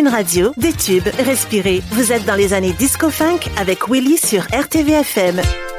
Une radio, des tubes, respirez. Vous êtes dans les années disco-funk avec Willy sur RTV-FM.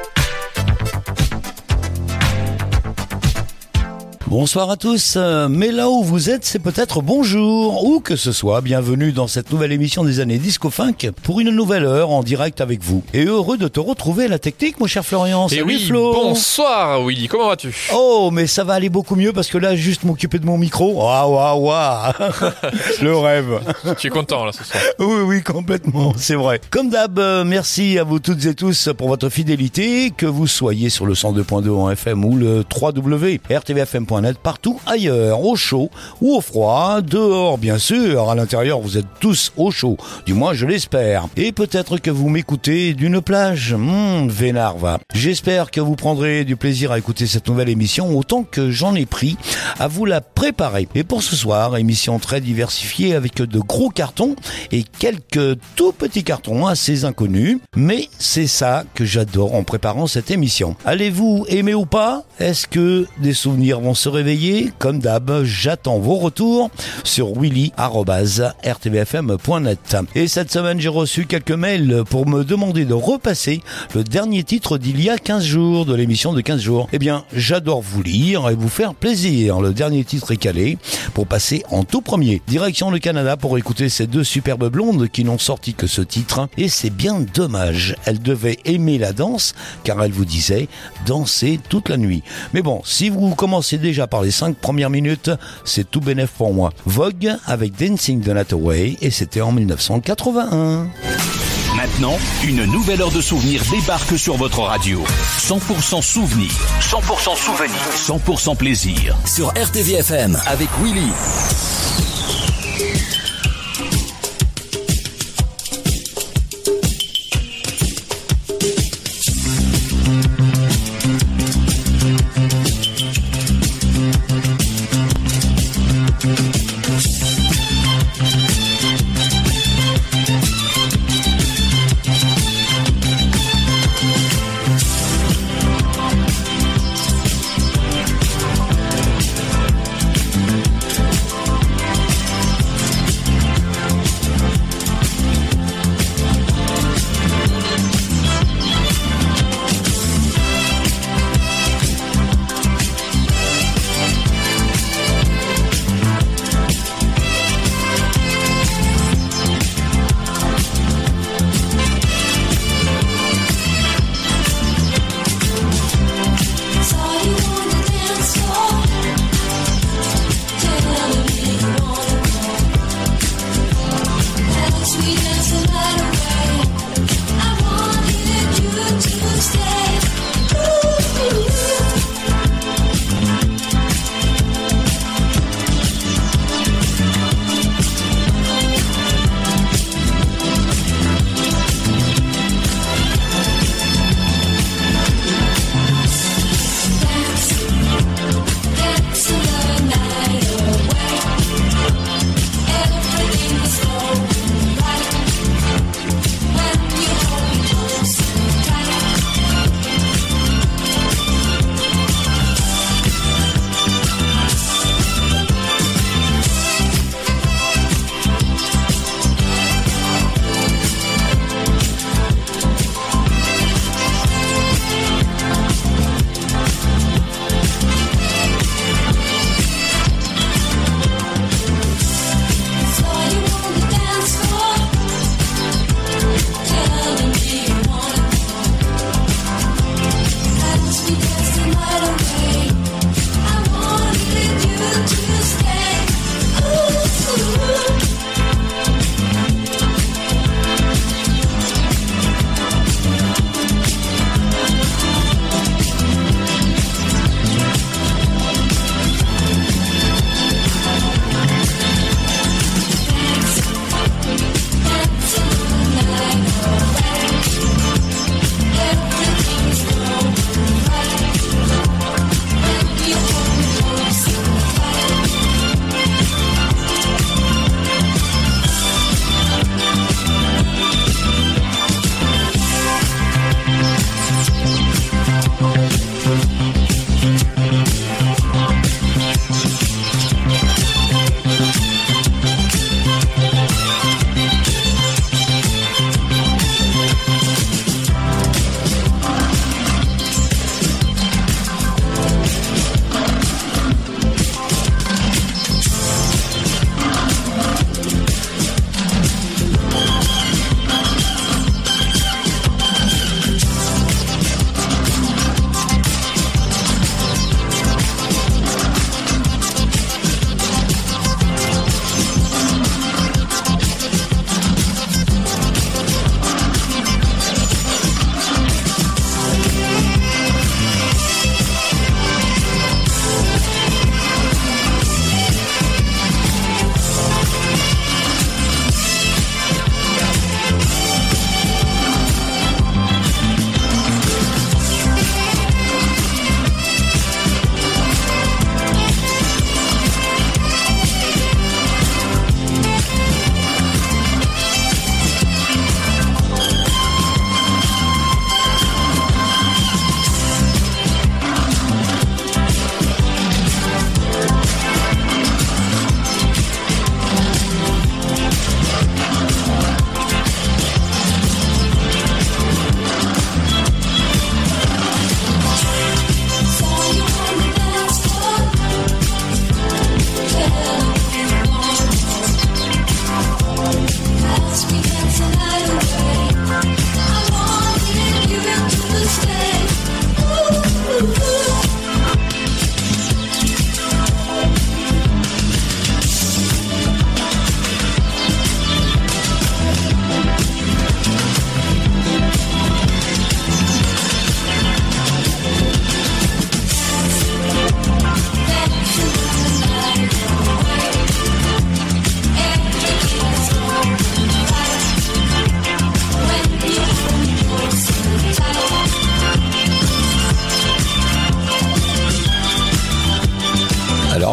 Bonsoir à tous, mais là où vous êtes, c'est peut-être bonjour, ou que ce soit, bienvenue dans cette nouvelle émission des années disco-funk pour une nouvelle heure en direct avec vous. Et heureux de te retrouver à la technique, mon cher Florian. Et Salut oui, Flo. bonsoir Willy, comment vas-tu? Oh, mais ça va aller beaucoup mieux parce que là, juste m'occuper de mon micro. Waouh. Le rêve. Tu es content là ce soir? Oui, complètement, c'est vrai. Comme d'hab, merci à vous toutes et tous pour votre fidélité, que vous soyez sur le 102.2 en FM ou le www.rtvfm.net, partout ailleurs, au chaud ou au froid, dehors bien sûr, à l'intérieur vous êtes tous au chaud, du moins je l'espère. Et peut-être que vous m'écoutez d'une plage, vénard va. J'espère que vous prendrez du plaisir à écouter cette nouvelle émission autant que j'en ai pris à vous la préparer. Et pour ce soir, émission très diversifiée avec de gros cartons et quelques tout petits cartons assez inconnus, mais c'est ça que j'adore en préparant cette émission. Allez-vous aimer ou pas? Est-ce que des souvenirs vont se réveiller? Comme d'hab, j'attends vos retours sur willy@rtvfm.net. Et cette semaine, j'ai reçu quelques mails pour me demander de repasser le dernier titre d'il y a 15 jours, de l'émission de 15 jours. Eh bien, j'adore vous lire et vous faire plaisir. Le dernier titre est calé pour passer en tout premier. Direction le Canada pour écouter ces deux superbes blondes qui n'ont sorti que ce titre. Et c'est bien dommage. Elles devaient aimer la danse, car elles vous disaient danser toute la nuit. Mais bon, si vous commencez déjà par les 5 premières minutes, c'est tout bénef pour moi. Vogue avec Dancing the Night Away, et c'était en 1981. Maintenant, une nouvelle heure de souvenirs débarque sur votre radio. 100% souvenirs, 100% souvenirs, 100% plaisir. Sur RTV-FM avec Willy.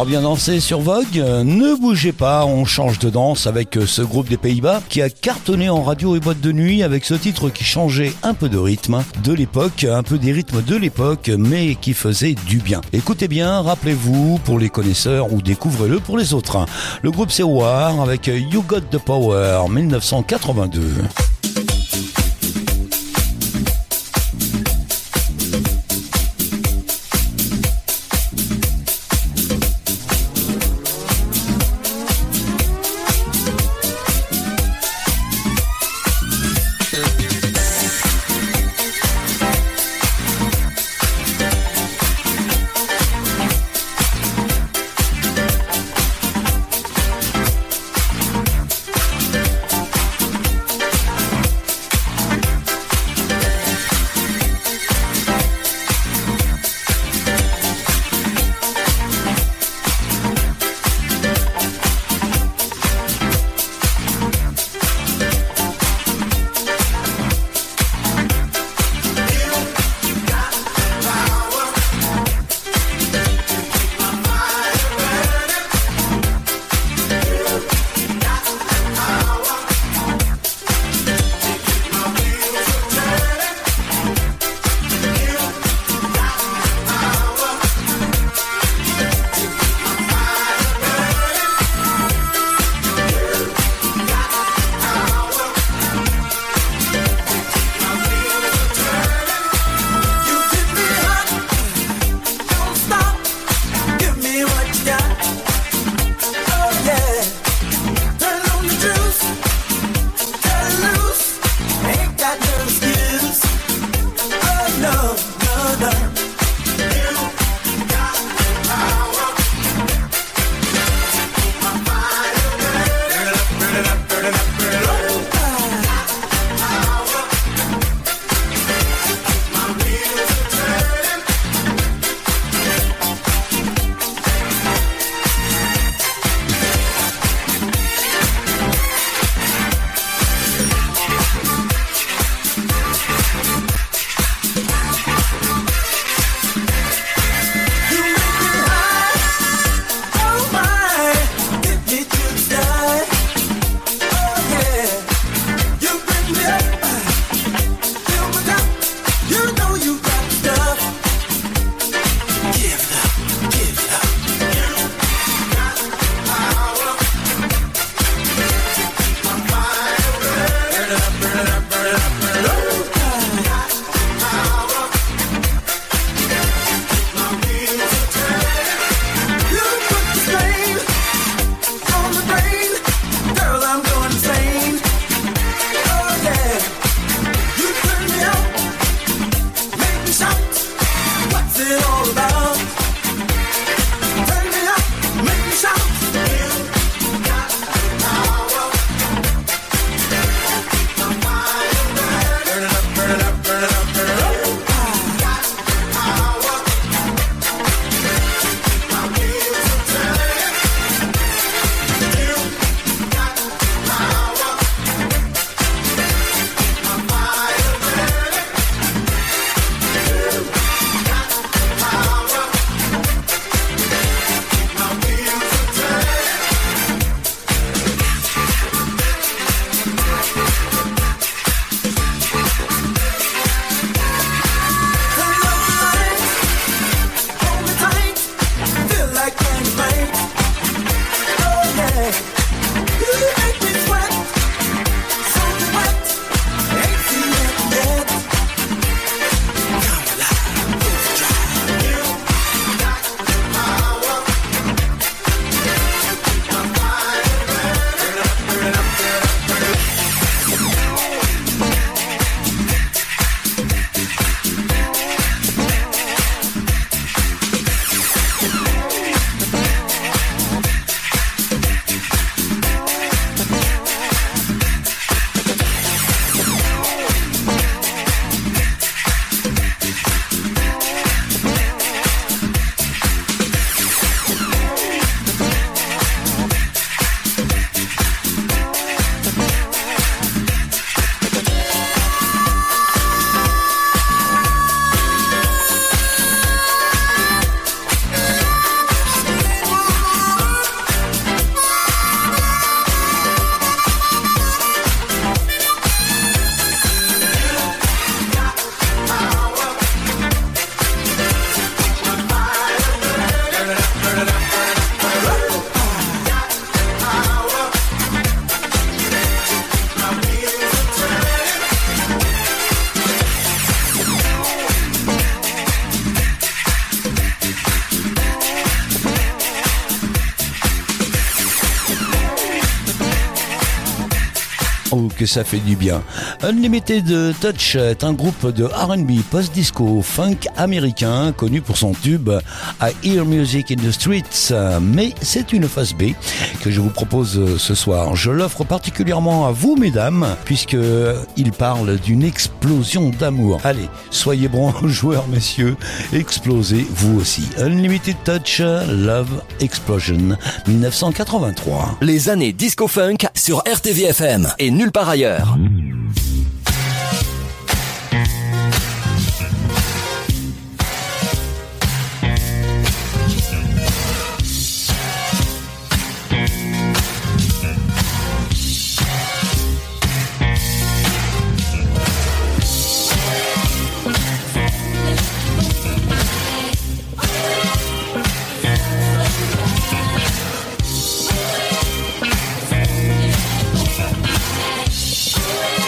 aura bien dansé sur Vogue. Ne bougez pas, on change de danse avec ce groupe des Pays-Bas qui a cartonné en radio et boîte de nuit avec ce titre qui changeait un peu de rythme de l'époque, un peu des rythmes de l'époque, mais qui faisait du bien. Écoutez bien, rappelez-vous pour les connaisseurs ou découvrez-le pour les autres. Le groupe c'est War avec You Got the Power 1982. Oh, que ça fait du bien. Unlimited Touch est un groupe de R&B post-disco funk américain connu pour son tube I Hear Music in the Streets. Mais c'est une face B que je vous propose ce soir. Je l'offre particulièrement à vous, mesdames, puisque il parle d'une explosion d'amour. Allez, soyez bons joueurs, messieurs. Explosez vous aussi. Unlimited Touch, Love Explosion, 1983. Les années disco-funk sur RTVFM et nulle part ailleurs. We'll be right back.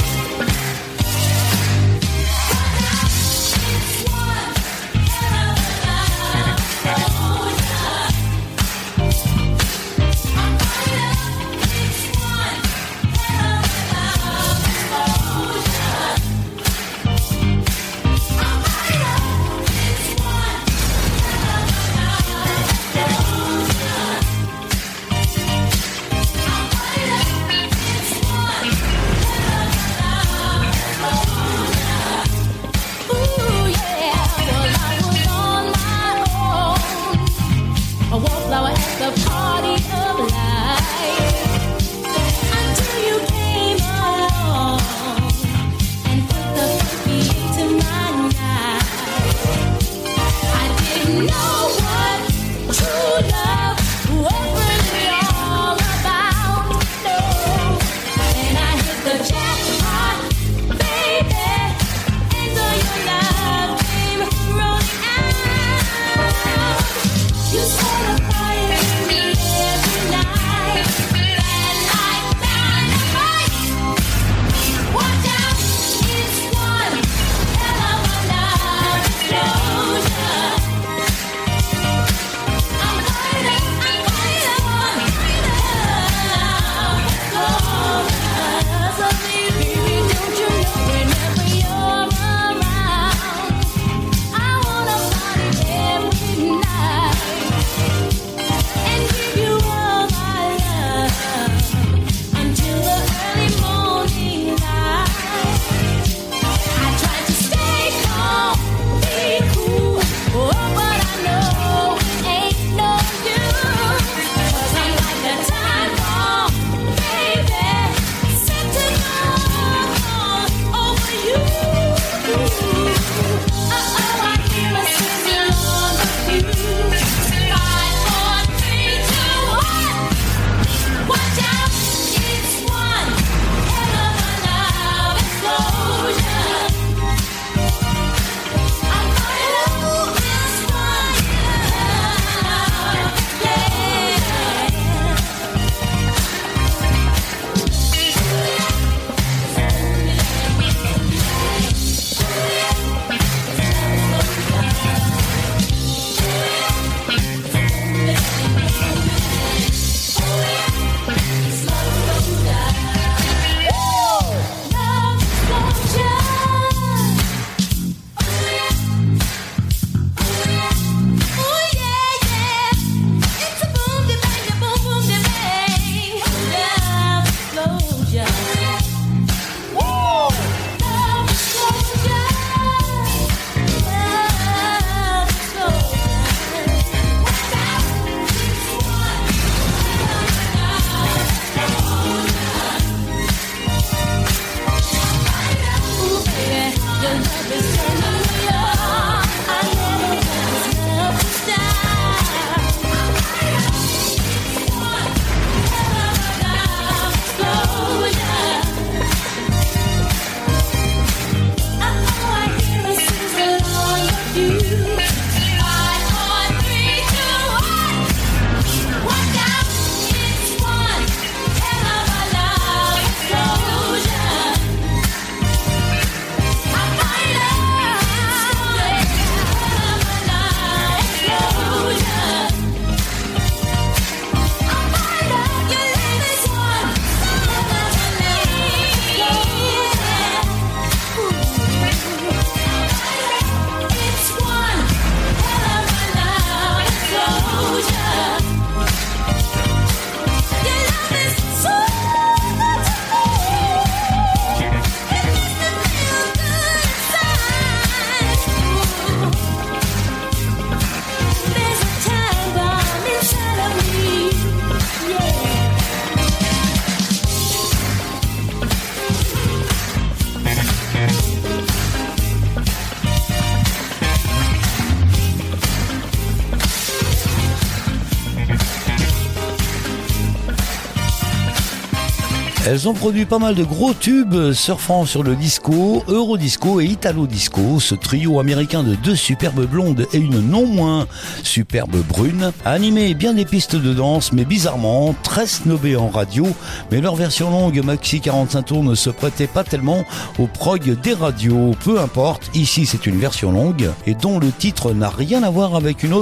Elles ont produit pas mal de gros tubes surfant sur le disco, Eurodisco et Italo Disco. Ce trio américain de deux superbes blondes et une non moins superbe brune a animé bien des pistes de danse, mais bizarrement très snobées en radio. Mais leur version longue maxi 45 tours ne se prêtait pas tellement au prog des radios. Peu importe, ici c'est une version longue et dont le titre n'a rien à voir avec un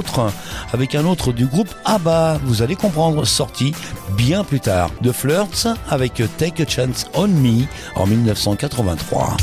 autre du groupe ABBA. Vous allez comprendre, sorti bien plus tard. The Flirts avec Take a Chance on Me en 1983.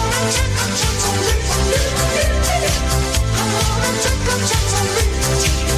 Take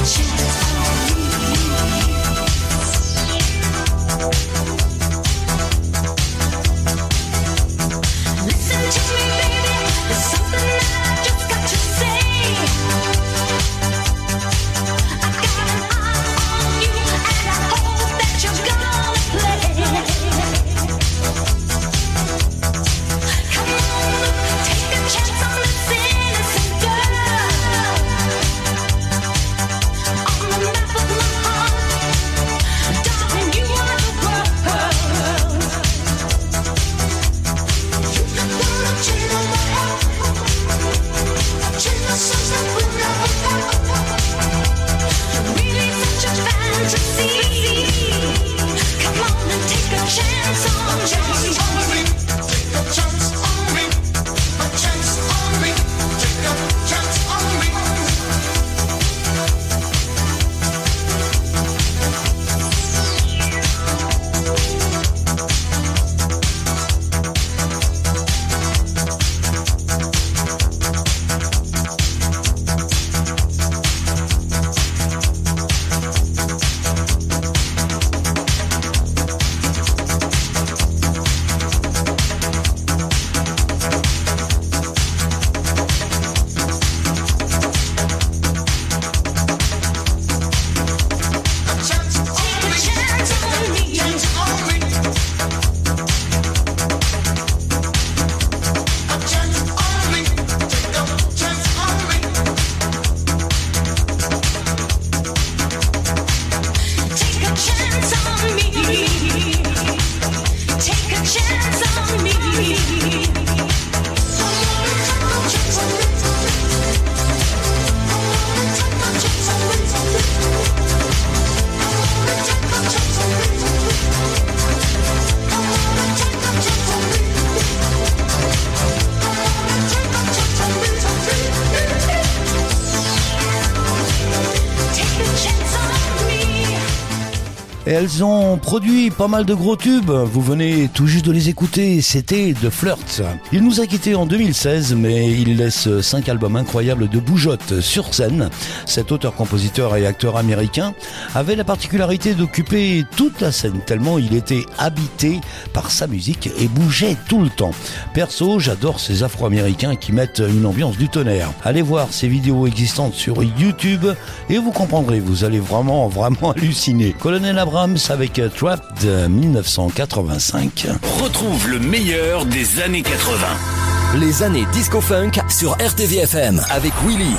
Et elles ont produit pas mal de gros tubes. Vous venez tout juste de les écouter. C'était The Flirt. Il nous a quittés en 2016, mais il laisse 5 albums incroyables de bougeotte sur scène. Cet auteur-compositeur et acteur américain avait la particularité d'occuper toute la scène tellement il était habité par sa musique et bougeait tout le temps. Perso, j'adore ces Afro-Américains qui mettent une ambiance du tonnerre. Allez voir ces vidéos existantes sur YouTube et vous comprendrez, vous allez vraiment halluciner. Colonel Abrams avec Trapped 1985. Retrouve le meilleur des années 80. Les années disco-funk sur RTVFM avec Willy.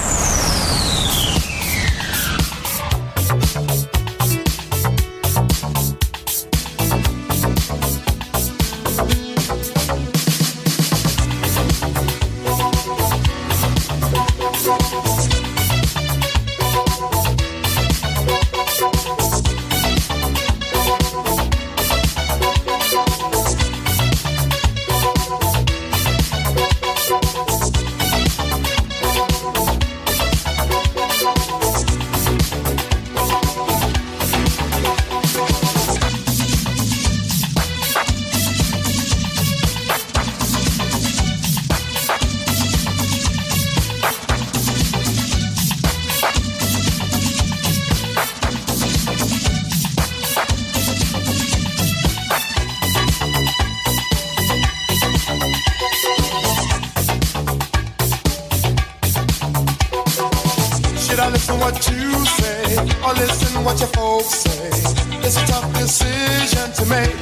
Listen what you say, or listen what your folks say. It's a tough decision to make.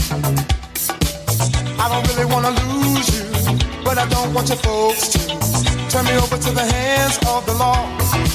I don't really wanna lose you, but I don't want your folks to turn me over to the hands of the law.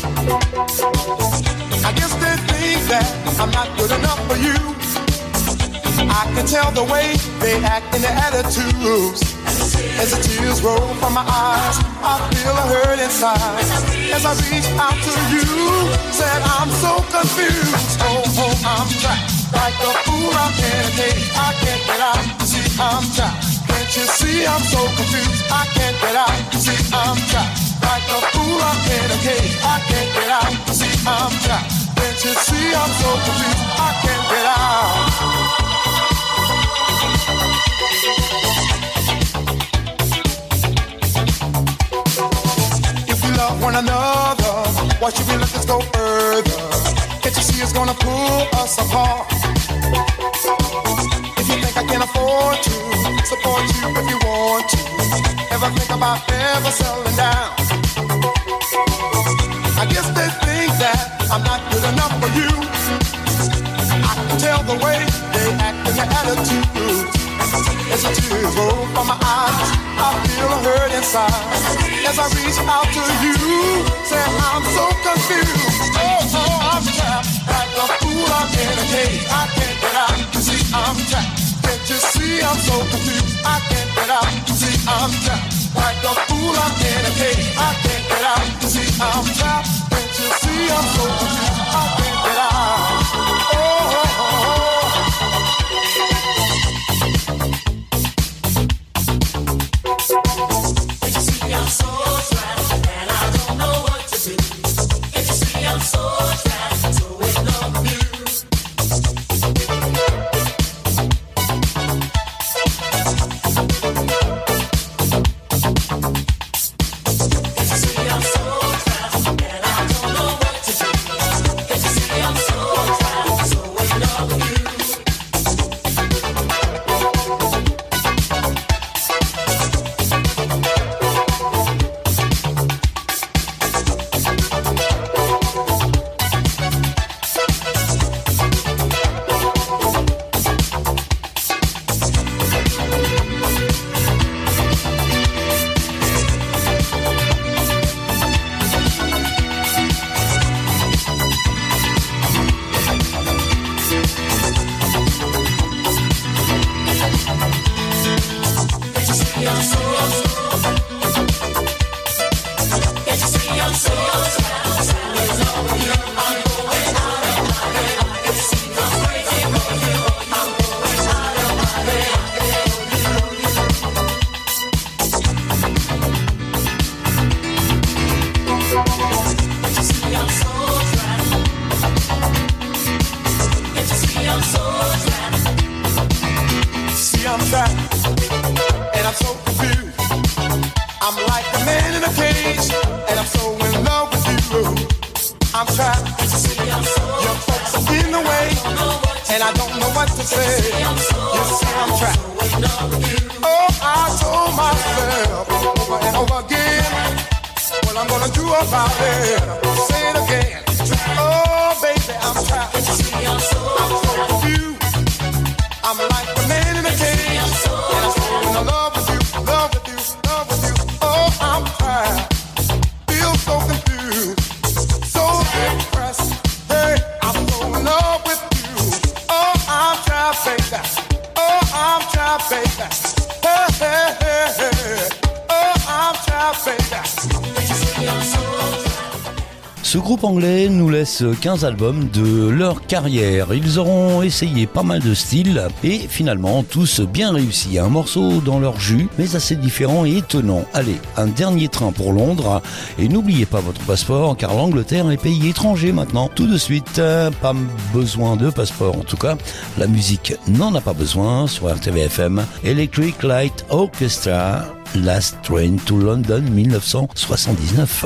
I guess they think that I'm not good enough for you. I can tell the way they act and their attitudes. As the tears roll from my eyes, I feel a hurt inside. As I reach out to you, said I'm so confused. Oh, I'm trapped like a fool. I'm in a cage. I can't get out. See, I'm trapped. Can't you see I'm so confused? I can't get out. See, I'm trapped like a fool. I'm in a cage. I can't get out. See, I'm trapped. Can't you see I'm so confused? I can't get out. Love one another, why should we let this go further? Can't you see it's gonna pull us apart? If you think I can afford to support you if you want to, ever think about ever settling down? I guess they think that I'm not good enough for you. I can tell the way they act and their attitudes. As the tears roll from my eyes, I feel a hurt inside. As I reach out to you, say I'm so confused. Oh, I'm trapped like a fool. I'm in a cage. I can't get out. You see, I'm trapped. Can't you see I'm so confused? I can't get out. You see, I'm trapped like a fool. I'm in a cage. I can't get out. You see, I'm trapped. Can't you see I'm so confused? I can't get out. Oh. I'm so trapped and I don't know what to do. Can't you see I'm so trapped, so in love with you. Can't you see I'm so trapped and I don't know what to do. and I don't know what to say. You see, I'm trapped. Oh, I told myself over and over again what I'm gonna do about it. Say it again. Oh, baby, I'm trapped. I'm so confused. I'm like the man in the cage, and I'm so in love with you, love with you, love with you. Oh, I'm trapped. Feel so confused, so depressed. Hey, I'm so in love with you. Oh, I'm trapped, baby. Oh, I'm trapped, baby. Hey, hey, hey, hey. Oh, I'm trapped, baby. Ce groupe anglais nous laisse 15 albums de leur carrière. Ils auront essayé pas mal de styles et finalement tous bien réussis. Un morceau dans leur jus, mais assez différent et étonnant. Allez, un dernier train pour Londres et n'oubliez pas votre passeport car l'Angleterre est pays étranger maintenant. Tout de suite, pas besoin de passeport. En tout cas, la musique n'en a pas besoin sur RTVFM. Electric Light Orchestra, Last Train to London 1979.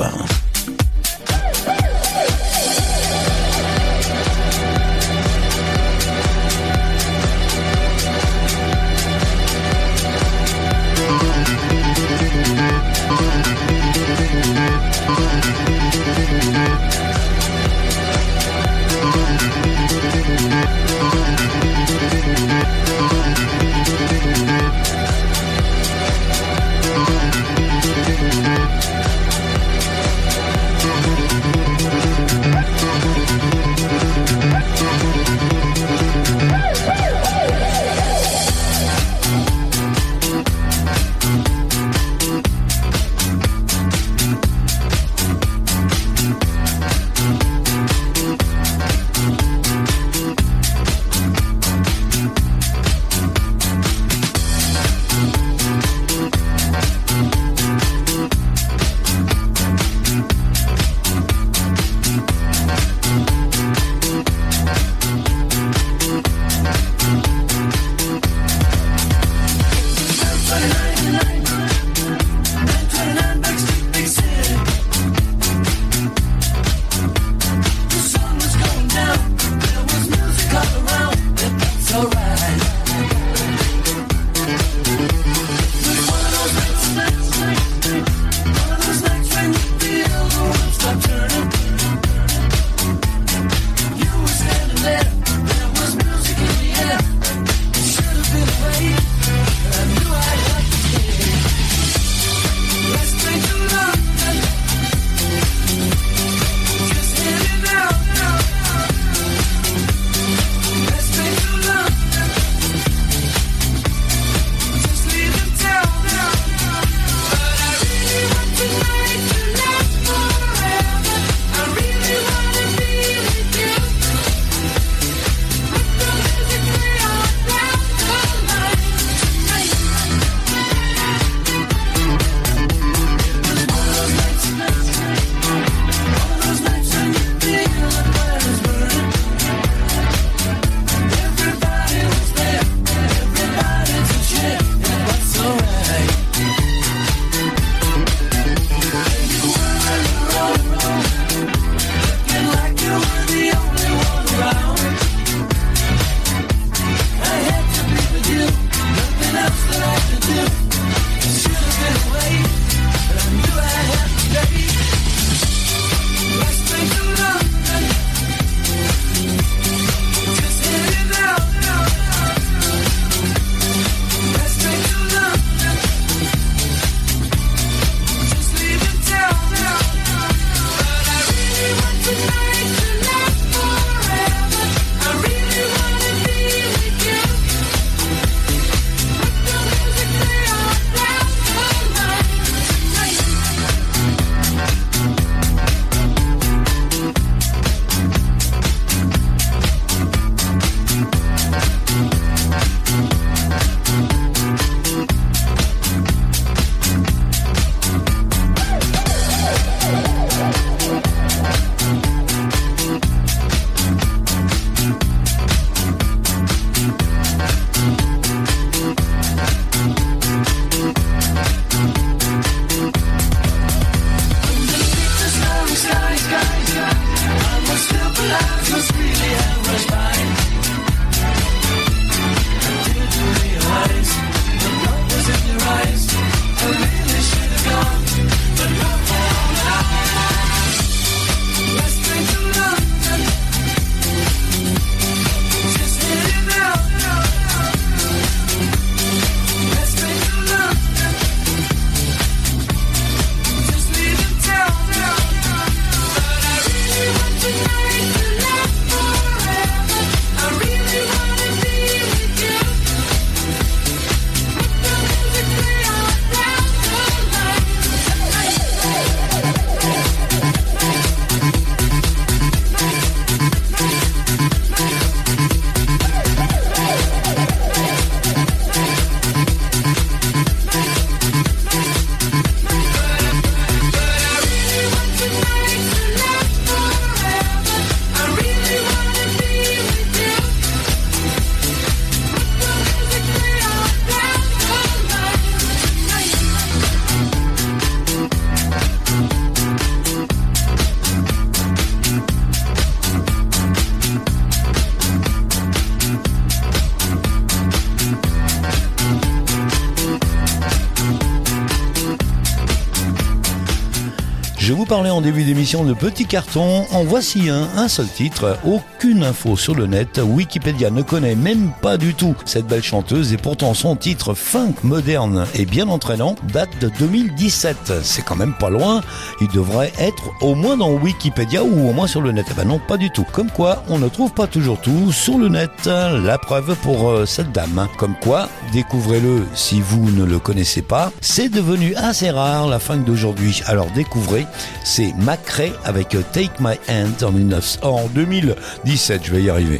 Je vous parlais en début d'émission de petits cartons. En voici un seul titre. Aucune info sur le net. Wikipédia ne connaît même pas du tout cette belle chanteuse et pourtant son titre funk moderne et bien entraînant date de 2017. C'est quand même pas loin. Il devrait être au moins dans Wikipédia ou au moins sur le net. Eh ben non, pas du tout. Comme quoi, on ne trouve pas toujours tout sur le net. La preuve pour cette dame. Comme quoi, découvrez-le si vous ne le connaissez pas. C'est devenu assez rare la funk d'aujourd'hui. Alors découvrez, c'est McRae avec Take My Hand en 2017. Je vais y arriver.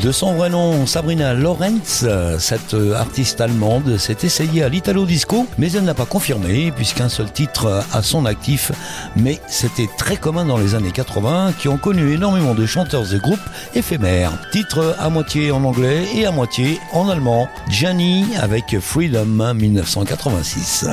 De son vrai nom, Sabrina Lorenz, cette artiste allemande s'est essayée à l'Italo Disco, mais elle n'a pas confirmé puisqu'un seul titre à son actif. Mais c'était très commun dans les années 80 qui ont connu énormément de chanteurs et groupes éphémères. Titre à moitié en anglais et à moitié en allemand. Gianni avec Freedom 1986.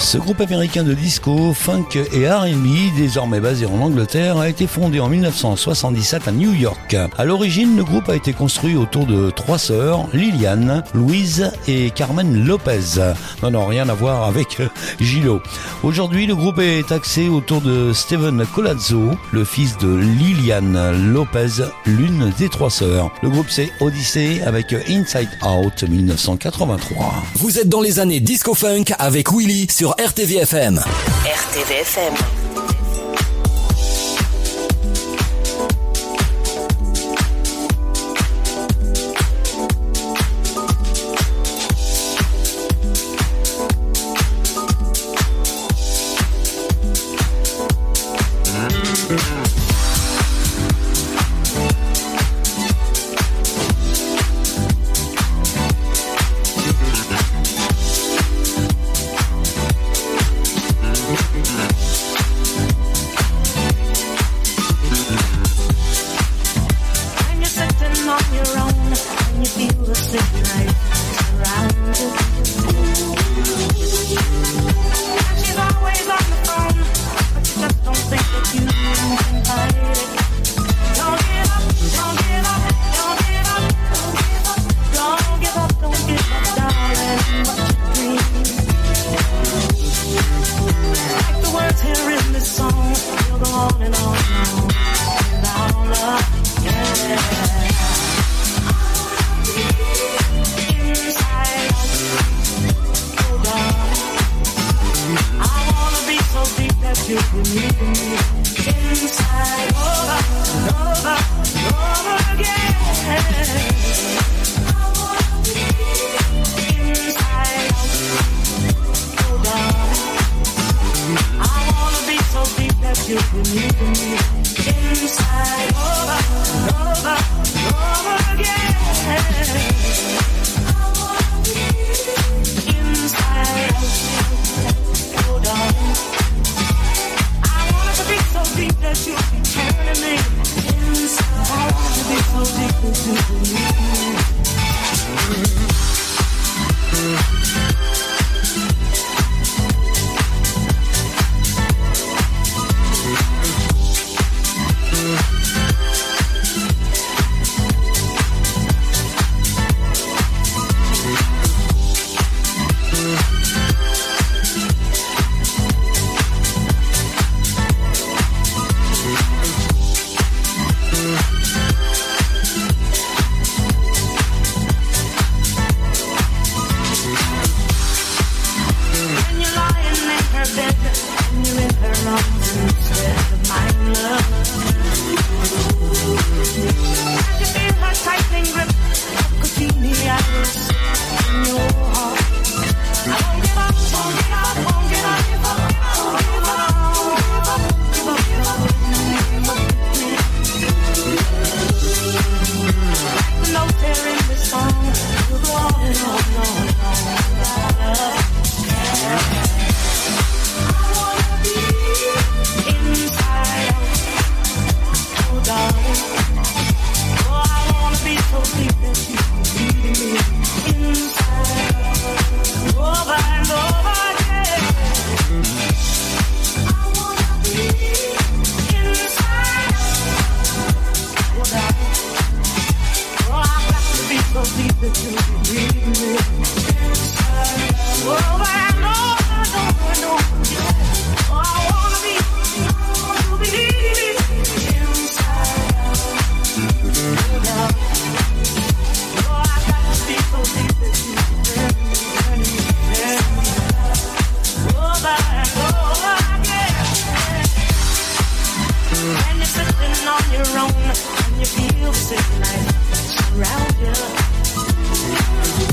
Ce groupe américain de disco, funk et R&B, désormais basé en Angleterre, a été fondé en 1977 à New York. À l'origine, le groupe a été construit autour de 3 sœurs, Liliane, Louise et Carmen Lopez. Non, rien à voir avec Gillo. Aujourd'hui, le groupe est axé autour de Steven Colazzo, le fils de Liliane Lopez, l'une des 3 sœurs. Le groupe c'est Odyssey avec Inside Out 1983. Vous êtes dans les années disco funk avec Willy sur RTV FM. RTV FM. on your own and you feel the city life around you.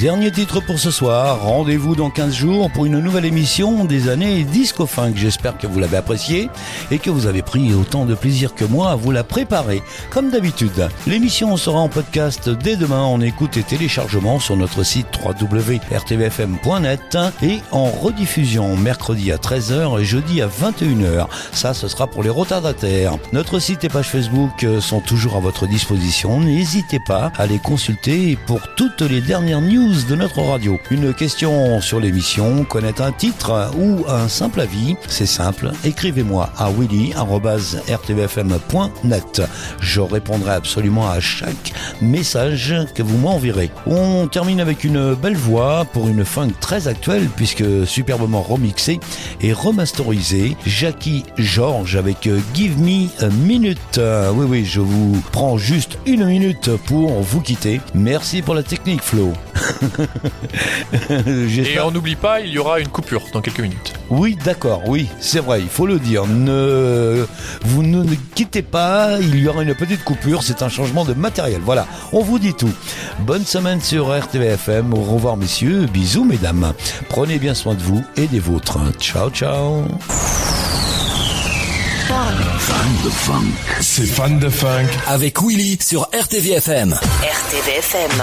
Dernier titre pour ce soir. Rendez-vous dans 15 jours pour une nouvelle émission des années Disco Funk. J'espère que vous l'avez apprécié et que vous avez pris autant de plaisir que moi à vous la préparer. Comme d'habitude, l'émission sera en podcast dès demain en écoute et téléchargement sur notre site www.rtvfm.net et en rediffusion mercredi à 13h et jeudi à 21h. Ça, ce sera pour les retardataires. Notre site et page Facebook sont toujours à votre disposition. N'hésitez pas à les consulter pour toutes les dernières news de notre radio. Une question sur l'émission, connaître un titre ou un simple avis, c'est simple, écrivez-moi à willy@rtvfm.net. Je répondrai absolument à chaque message que vous m'enverrez. On termine avec une belle voix pour une funk très actuelle puisque superbement remixée et remasterisée. Jackie George avec Give Me a Minute. Oui, je vous prends juste une minute pour vous quitter. Merci pour la technique, Flo. Et on n'oublie pas, il y aura une coupure dans quelques minutes. Oui, d'accord, oui, c'est vrai, il faut le dire. Vous ne quittez pas, il y aura une petite coupure, c'est un changement de matériel. Voilà, on vous dit tout. Bonne semaine sur RTVFM, au revoir messieurs, bisous mesdames. Prenez bien soin de vous et des vôtres. Ciao, ciao. Fan de funk. C'est Fan de funk. Avec Willy sur RTVFM. RTVFM.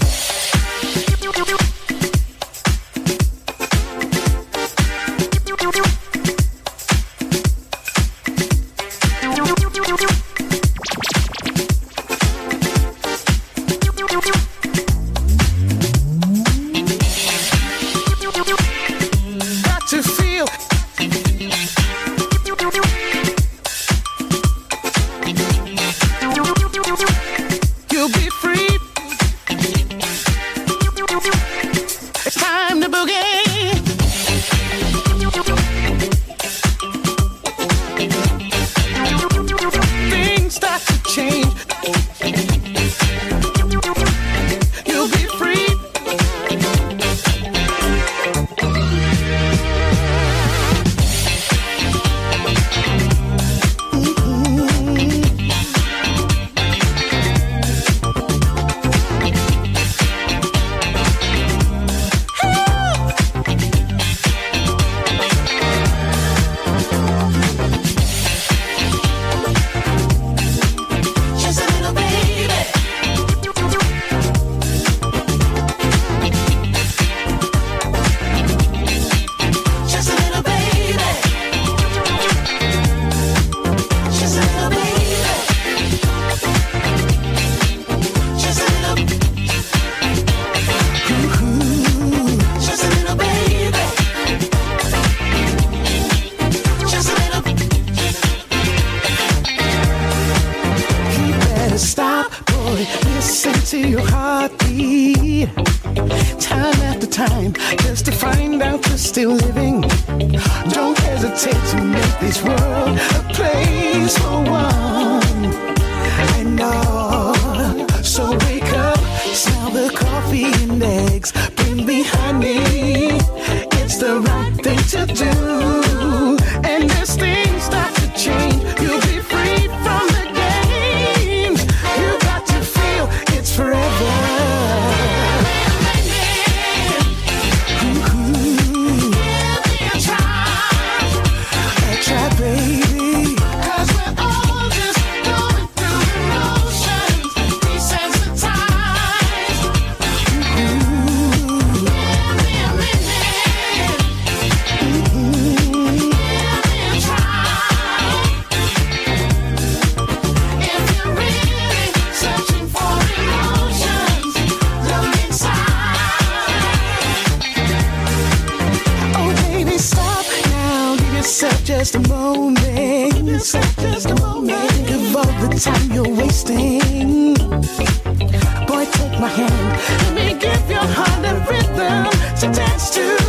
Just to find out you're still living. Don't hesitate to make this world a place for one. I know. So wake up, smell the coffee and eggs. Bring me honey. It's the right thing to do. And as things start to change, you'll be free from the games. You got to feel it's forever. Just a moment, just a moment. Think of all the time you're wasting. Boy, take my hand. Let me give your heart a rhythm to dance to.